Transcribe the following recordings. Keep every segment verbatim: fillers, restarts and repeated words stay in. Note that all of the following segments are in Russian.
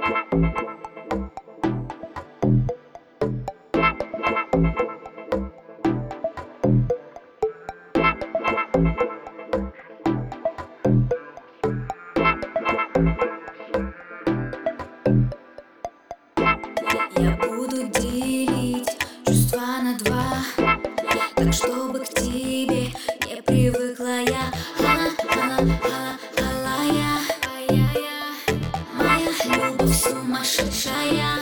Я буду делить чувства на два, так чтобы к тебе не привыкла я. Алая, моя любовь сумасшедшая.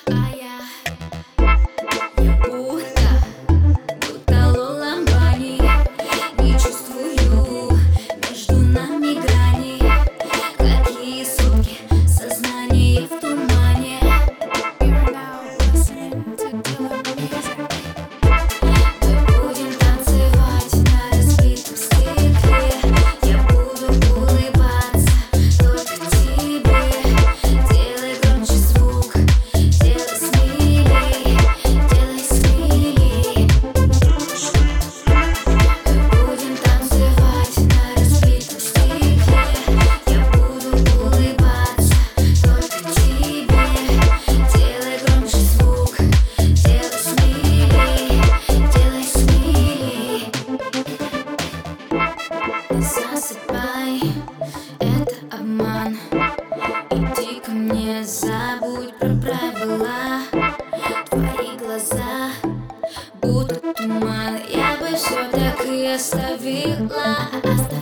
Я будто, будто Лоламбани, не чувствую между нами грани. Какие сутки, сознание в тумане. Засыпай, это обман. Иди ко мне, забудь про правила. Твои глаза будто туман. Я бы все так и оставила.